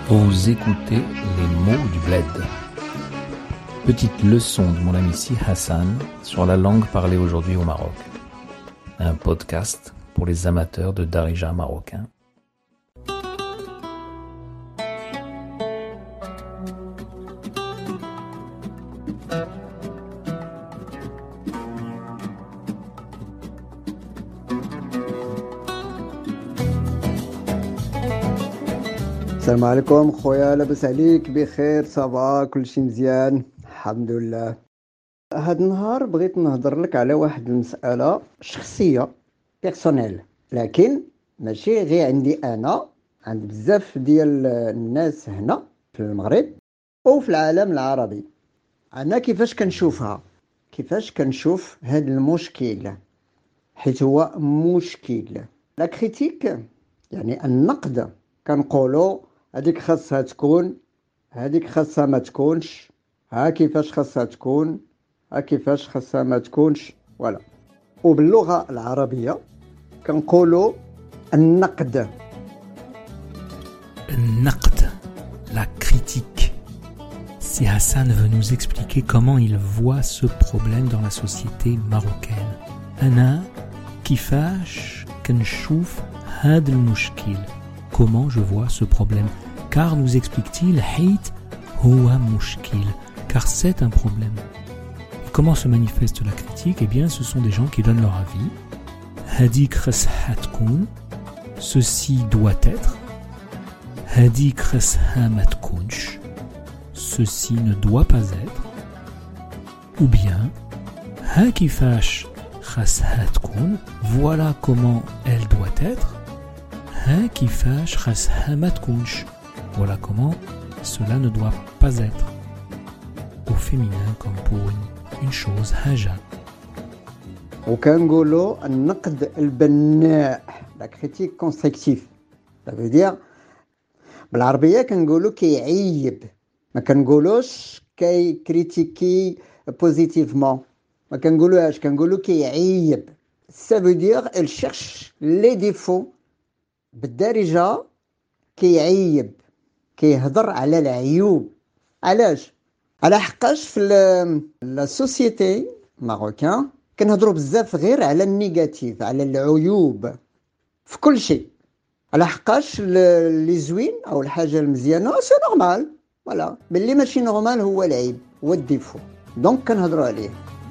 Vous écoutez les mots du bled. Petite leçon de mon ami Si Hassan sur la langue parlée aujourd'hui au Maroc. Un podcast pour les amateurs de darija marocain. السلام عليكم خويا، لاباس عليك؟ بخير صافا كلشي مزيان الحمد لله. هاد النهار بغيت نهضر لك على واحد المسألة شخصية بيرسونيل، لكن ماشي غير عندي انا، عند بزاف ديال الناس هنا في المغرب وفي العالم العربي. انا كيفاش كنشوف هاد المشكل، حيت هو مشكل. لا كريتيك يعني النقد، كنقولوا هذيك خاصها تكون، هذيك خاصها ما تكونش، ها كيفاش خاصها تكون، ها كيفاش خاصها ما تكونش، فوالا. وباللغه العربيه كنقولوا النقد. La critique. Si Hassan veut nous expliquer comment il voit ce problème dans la société marocaine. أنا كيفاش كنشوف هذا المشكل. Comment je vois ce problème. Car, nous explique-t-il, حيت هو مشكل. Car c'est un problème. Et comment se manifeste la critique? Eh bien, ce sont des gens qui donnent leur avis. هذيك خاصها تكون. Ceci doit être. هذيك خاصها ما تكونش. Ceci ne doit pas être. Ou bien, ها كيفاش خاصها تكون. Voilà comment elle doit être. ها كيفاش خاصها ما تكونش. Voilà comment cela ne doit pas être. Au féminin comme pour une chose, حاجة. وكنقولوا النقد البناء، لا كريتيك كونستركتيف. ça veut dire بالعربيه كنقولوا كيعيب، ما كنقولوش كي كريتيكي بوزيتيفمون، ما كنقولوهاش، كنقولوا كيعيب. ça veut dire elle cherche les défauts. بالدارجه كيعيب، كيهضر على العيوب. علاش؟ على حقاش في لا سوسيتي ماروكان كنهضروا بزاف غير على النيجاتيف، على العيوب في كل شيء. على حقاش اللي زوين او الحاجه المزيانه سي نورمال، فوالا. باللي ماشي نورمال هو العيب، هو الديفو، دونك كنهضروا عليه.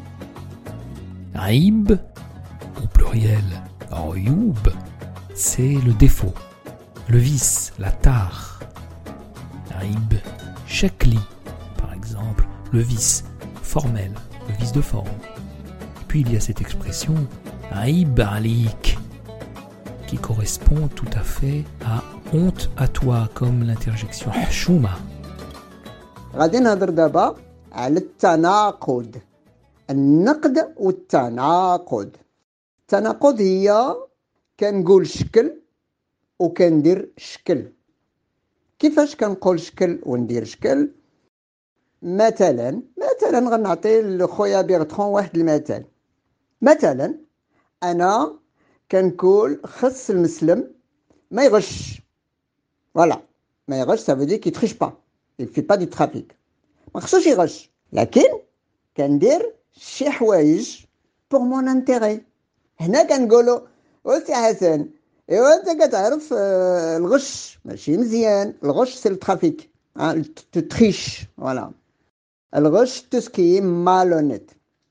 عيب au pluriel. عيوب, c'est le défaut, le vice, la tare. عيب شكلي, par exemple, le vice formel, le vice de forme. Et puis il y a cette expression عيب عليك, qui correspond tout à fait à honte à toi, comme l'interjection حشومة. غادي نهضر دابا على التناقض، النقد والتناقض. التناقض هي كنقول شكل وكندير شكل. كيفاش كنقول شكل وندير شكل؟ مثلا غنعطي لخويا بيرترون واحد المثال. مثلا انا كنقول خص المسلم ما يغش، فوالا. ما يغش ça veut dire qu'il triche pas, il fait pas du trafic. ما خصوش يغش، لكن كندير شي حوايج pour mon intérêt. هنا كنقولوا وسي حسن، ايوا انت كتعرف الغش ماشي مزيان. الغش سي الترافيك، تو تريش، فوالا. الغش تو سكي مالونيت.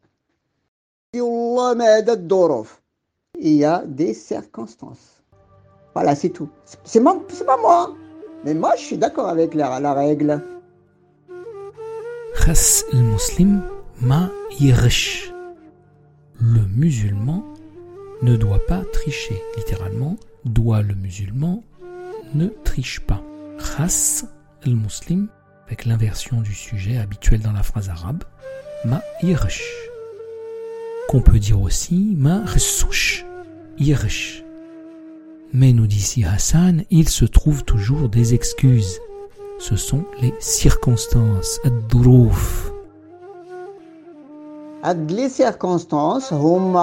والله ما هذا الظروف، هي دي سيركونستانس، فوالا سي تو. سي pas moi, mais moi je suis d'accord avec la règle. خاص المسلم ما يغش. Le musulman ne doit pas tricher. Littéralement, doit le musulman ne triche pas. Khas al-muslim, avec l'inversion du sujet habituel dans la phrase arabe, ma yirsh. Qu'on peut dire aussi ma ressouch, yirsh. Mais nous dit si Hassan, il se trouve toujours des excuses. Ce sont les circonstances, ad-dourouf. Les circonstances,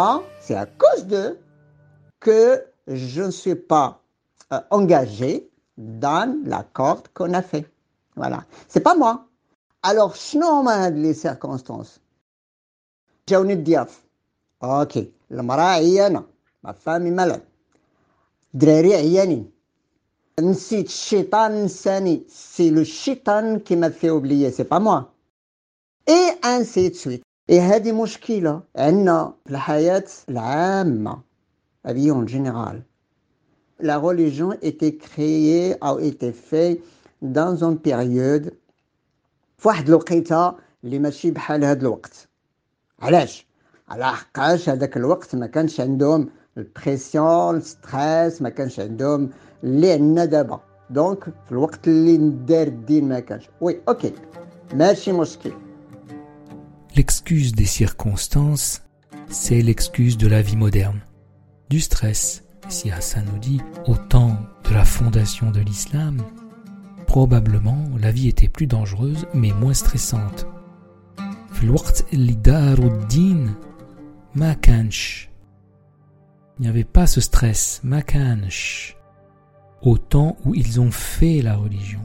c'est à cause d'eux que je ne suis pas engagé dans la corde qu'on a fait. Voilà. C'est pas moi. Alors, شنو هما هاد les circonstances؟ جاوني الضياف. اوكي، المرأة عيانة، ما فامي مالاد. الدراري عيانين. نسيت الشيطان نساني. سي لو الشيطان qui m'a fait oublier, c'est pas moi. Et ainsi de suite. Et هذه مشكلة عندنا في الحياة العامة. La vie en général. La religion était créée, a été faite dans une période في واحد الوقيته اللي ماشي بحال هذا الوقت. علاش؟ على حقاش هذاك الوقت ما كانش عندهم البريسيون، الستريس، ما كانش عندهم اللي عندنا دابا. دونك في الوقت اللي ندار الدين ما كانش. وي اوكي ماشي مشكل. L'excuse des circonstances, c'est l'excuse de la vie moderne. Du stress. Si Hassan nous dit, au temps de la fondation de l'islam, probablement la vie était plus dangereuse mais moins stressante. في الوقت اللي داروا الدين ما كانش. Il n'y avait pas ce stress, ما كانش. Au temps où ils ont fait la religion.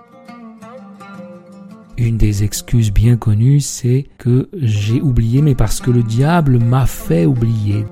Une des excuses bien connues, c'est que j'ai oublié, mais parce que le diable m'a fait oublier.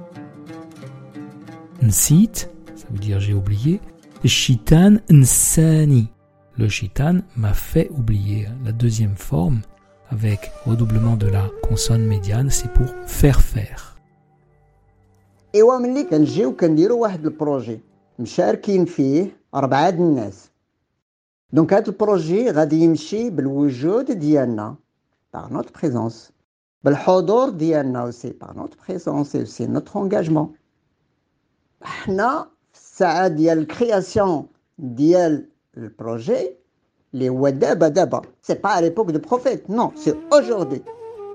Nsit, ça veut dire j'ai oublié. Shitan nsani. Le shitan m'a fait oublier. La deuxième forme, avec redoublement de la consonne médiane, c'est pour faire. ايوا ملي كنجيو كنديروا واحد البروجي مشاركين فيه 4 الناس. دونك هذا البروجي غادي يمشي بالوجود ديالنا par notre présence, بالحضور ديالنا aussi par notre présence et aussi notre engagement. حنا في الساعه ديال الكرياسيون ديال البروجي اللي هو دابا سي با à l'époque de prophète, non, c'est aujourd'hui.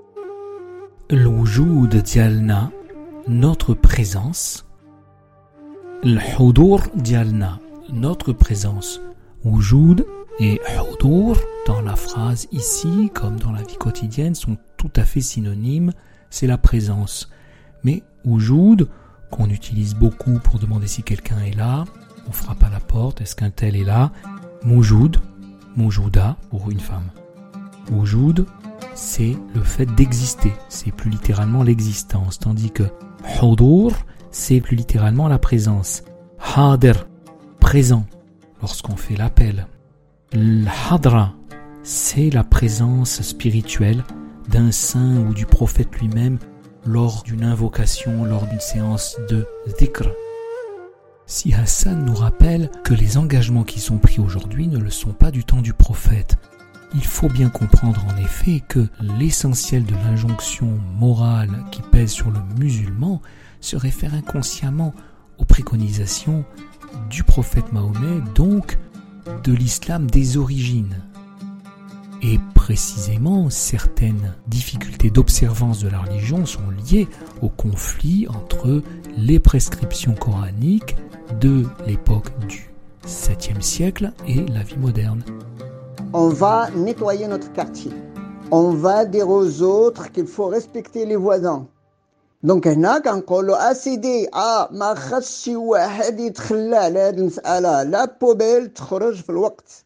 الوجود ديالنا, notre présence. الحضور ديالنا, notre présence. Wujud et hudur dans la phrase ici, comme dans la vie quotidienne, sont tout à fait synonymes. C'est la présence. Mais wujud, qu'on utilise beaucoup pour demander si quelqu'un est là, on frappe à la porte, est-ce qu'un tel est là? Mujud, mujuda pour une femme. Wujud, c'est le fait d'exister, c'est plus littéralement l'existence, tandis que hudur, c'est plus littéralement la présence. Hadir, présent, lorsqu'on fait l'appel. L'hadra, c'est la présence spirituelle d'un saint ou du prophète lui-même lors d'une invocation, lors d'une séance de dhikr. Si Hassan nous rappelle que les engagements qui sont pris aujourd'hui ne le sont pas du temps du prophète, il faut bien comprendre en effet que l'essentiel de l'injonction morale qui pèse sur le musulman se réfère inconsciemment aux préconisations du prophète Mahomet, donc de l'islam des origines. Et précisément, certaines difficultés d'observance de la religion sont liées au conflit entre les prescriptions coraniques de l'époque du 7e siècle et la vie moderne. On va nettoyer notre quartier. On va dire aux autres qu'il faut respecter les voisins. دونك هنا كنقولوا اسيدي ما خاصش شي واحد يتخلى على هذه المساله، لا بوبيل تخرج في الوقت.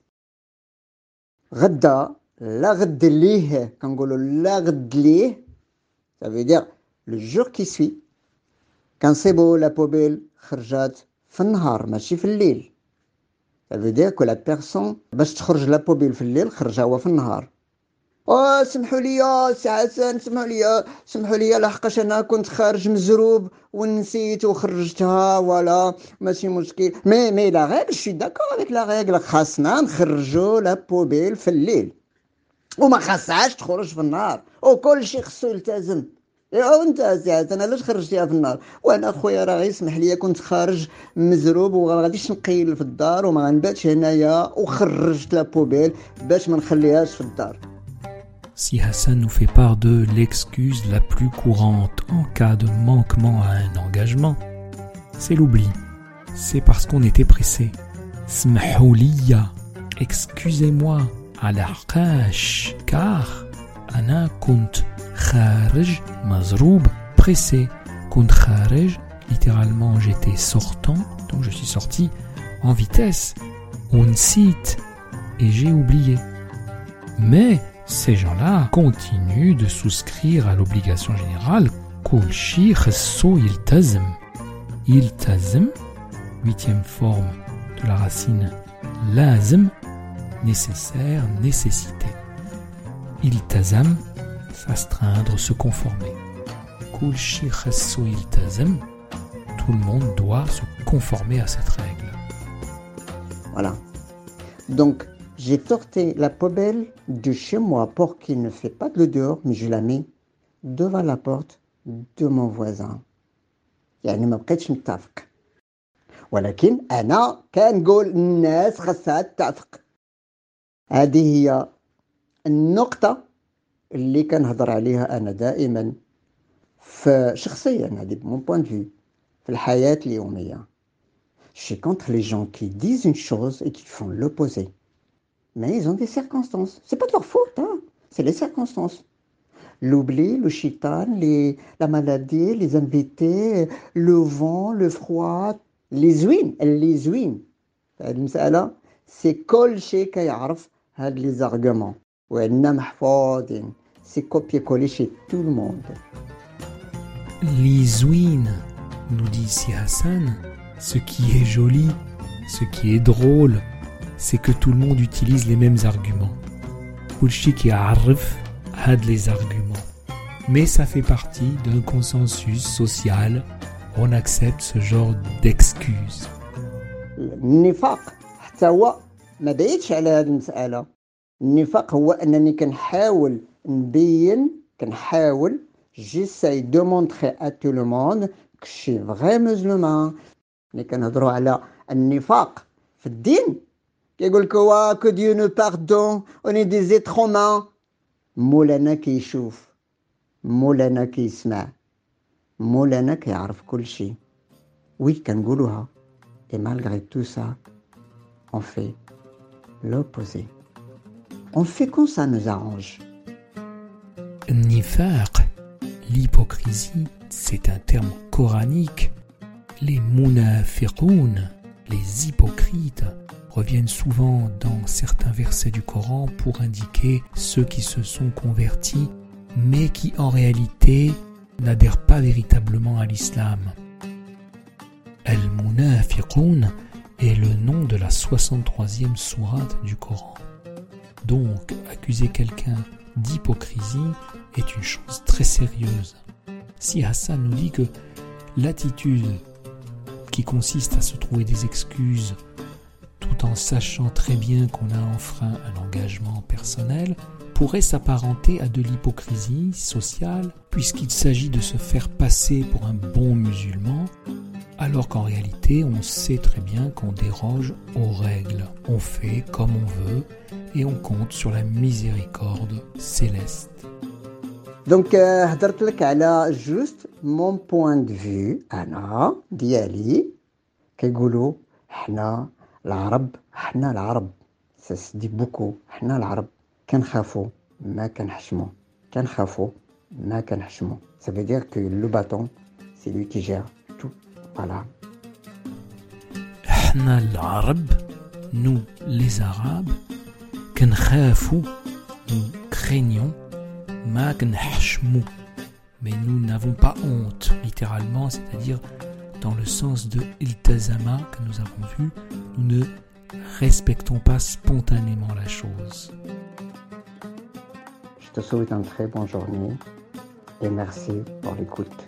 غدا لا غد ليه، كنقولوا لا غد ليه، ça veut dire le jour qui suit كنصيبوا لا بوبيل خرجات في النهار ماشي في الليل. ça veut dire que la personne باش تخرج لا بوبيل في الليل خرجها هو في النهار. سمحوا لي سي حسن، سمحوا لي لحقاش انا كنت خارج مزروب ونسيت وخرجتها، ولا ماشي مشكل. مي لا ريغل شي داكور افيك لا ريغل، خاصنا نخرجوا لا بوبيل في الليل وما خاصهاش تخرج في النهار، وكل شيء خصو يلتزم. وانت سي حسن علاش خرجتيها في النهار؟ وانا خويا راه يسمح لي كنت خارج مزروب وغاديش نقيل في الدار وما غنباتش هنايا وخرجت لا بوبيل باش ما نخليهاش في الدار. Si Hassan nous fait part de l'excuse la plus courante en cas de manquement à un engagement, c'est l'oubli. C'est parce qu'on était pressé. Smahouliya, excusez-moi, al-aqash, car ana kunt kharij mazroub, pressé. Kunt kharij, littéralement j'étais sortant, donc je suis sorti en vitesse. ونسيت et j'ai oublié. Mais ces gens-là continuent de souscrire à l'obligation générale كل شيء خصو يلتزم. يلتزم, 8e forme de la racine لازم, nécessaire, nécessité. يلتزم, s'astreindre, se conformer. كل شيء خصو يلتزم, tout le monde doit se conformer à cette règle. Voilà. Donc, j'ai sorti la poubelle de chez moi pour qu'il ne fait pas de l'odeur, mais je la mets devant la porte de mon voisin. يعني ما بقيتش متفق. ولكن أنا كنقول الناس خاصها تتفق. هذه هي النقطة اللي كنهضر عليها أنا دائما في شخصيا هذه mon point de vue في الحياة اليومية. Je suis contre les gens qui disent une chose et qui font l'opposé. Mais ils ont des circonstances. C'est pas de leur faute, hein. C'est les circonstances. L'oubli, le chitan, la maladie, les invités, le vent, le froid, les ouines. المسألة c'est كل شيء كيعرف هاد les arguments. وعندنا محفوظين. C'est copier-coller chez tout le monde. L'isouine, nous dit si Hassan, ce qui est joli, ce qui est drôle, c'est que tout le monde utilise les mêmes arguments. Kulchi qui arrive a les arguments. Mais ça fait partie d'un consensus social. On accepte ce genre d'excuses. النفاق حتى هو ما بعيدش على هذه المسألة. النفاق هو أنني كنحاول j'essaye de montrer à tout le monde que je suis vrai musulman. ملي كنهضروا على النفاق في الدين كيقول لك que Dieu nous pardonne, on est des êtres humains. مولانا كيشوف, مولانا كيسمع, مولانا كيعرف كل شيء. وي كنقولوها. Et malgré tout ça, on fait l'opposé. On fait comme ça nous arrange. Nifaq, l'hypocrisie, c'est un terme coranique. Les munafiqoun, les hypocrites, reviennent souvent dans certains versets du Coran pour indiquer ceux qui se sont convertis, mais qui en réalité n'adhèrent pas véritablement à l'islam. Al-Munafiqoun est le nom de la 63e sourate du Coran. Donc, accuser quelqu'un d'hypocrisie est une chose très sérieuse. Si Hassan nous dit que l'attitude qui consiste à se trouver des excuses tout en sachant très bien qu'on a enfreint un engagement personnel pourrait s'apparenter à de l'hypocrisie sociale puisqu'il s'agit de se faire passer pour un bon musulman alors qu'en réalité on sait très bien qu'on déroge aux règles. On fait comme on veut et on compte sur la miséricorde céleste. Donc هضرت لك على juste mon point de vue أنا ديالي كيقولوا حنا العرب ça se dit beaucoup حنا العرب كنخافوا ما كنحشموا ça veut dire que le bâton c'est lui qui gère tout. Voilà. حنا العرب, nous les arabes, كنخافوا, nous craignons, ما كنحشموا, mais nous n'avons pas honte, littéralement, c'est-à-dire dans le sens de iltazama que nous avons vu, nous ne respectons pas spontanément la chose. Je te souhaite une très bonne journée et merci pour l'écoute.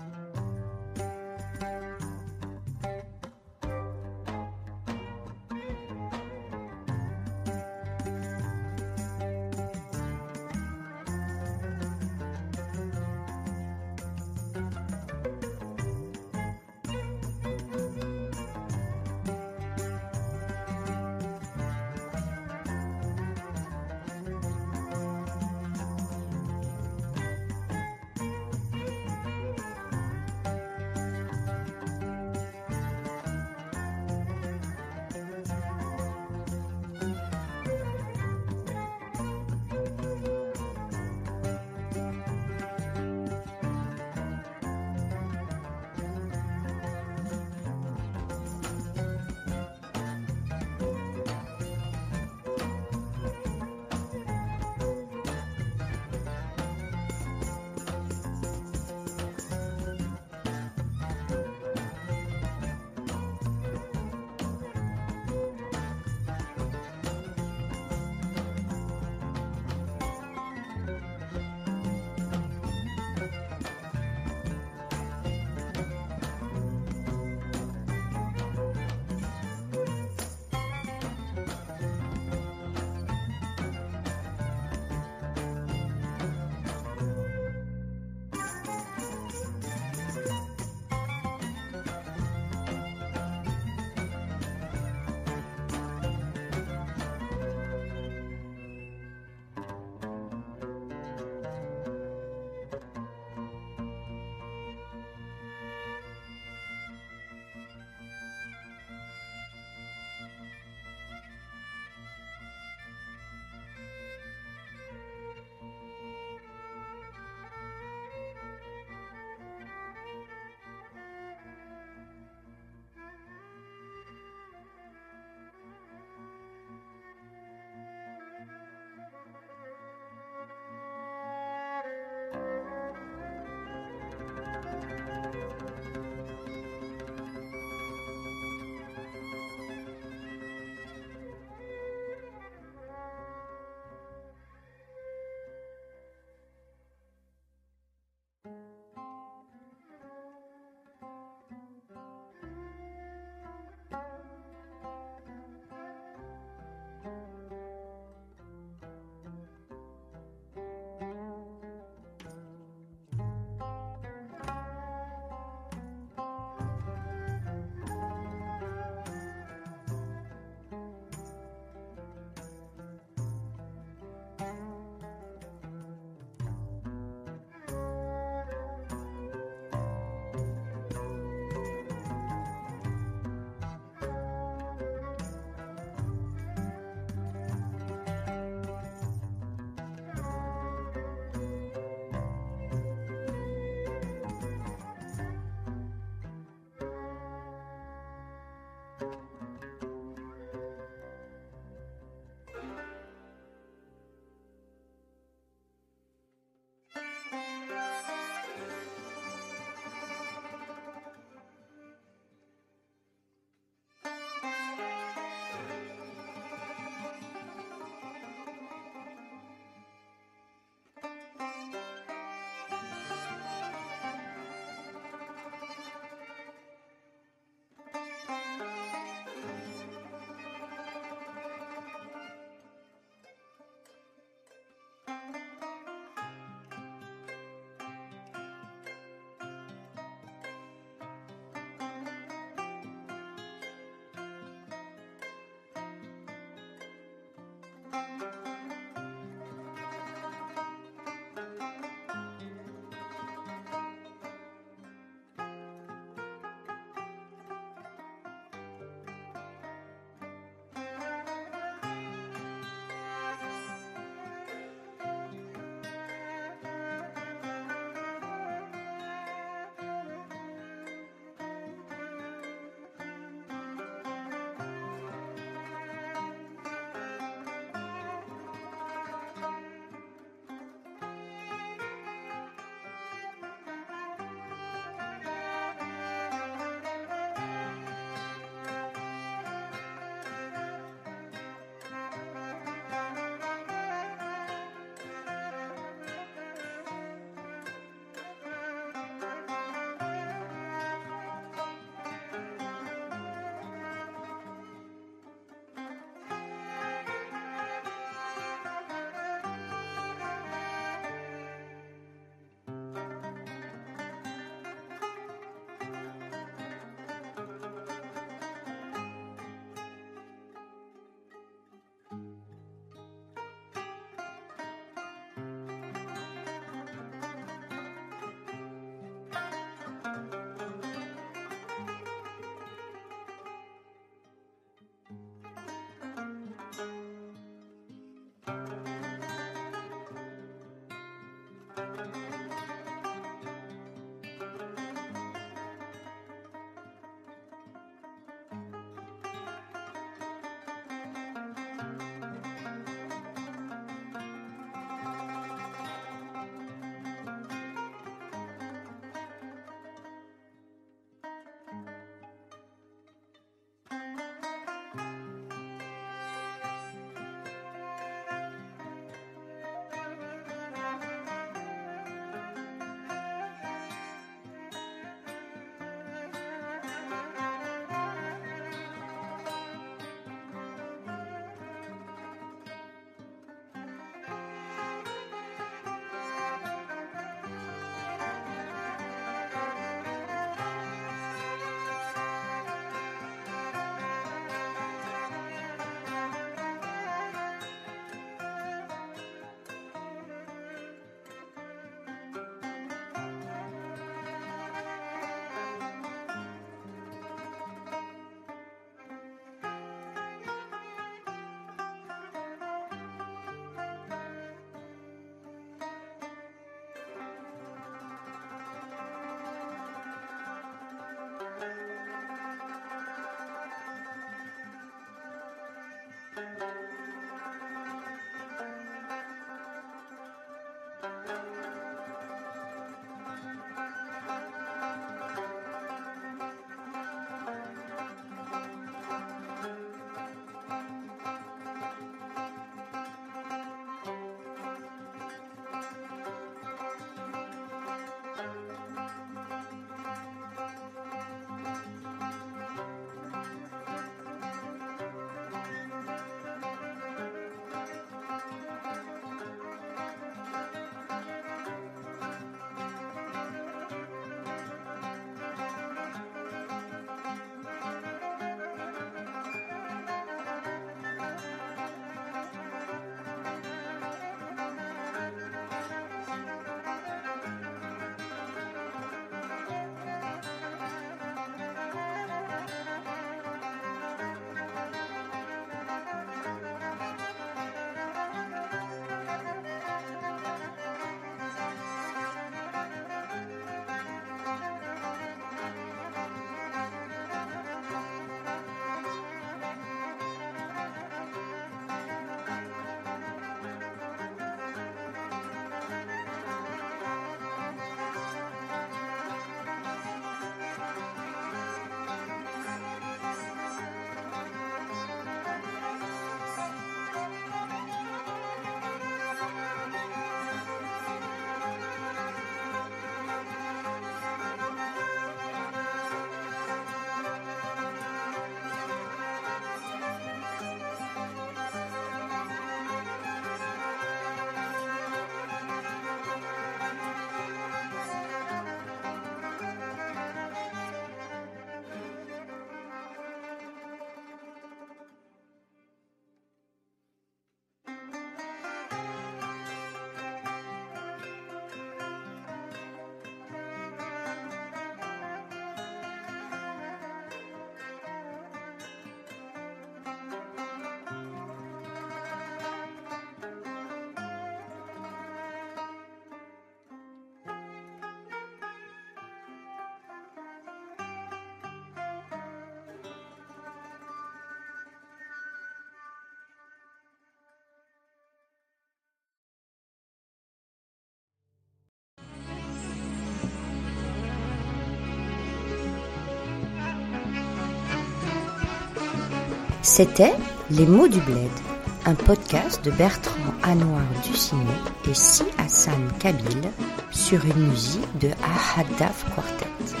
C'était Les mots du bled, un podcast de Bertrand Anouar Ducinet et Si Hassan Kabil sur une musique de Ahad Daf Quartet.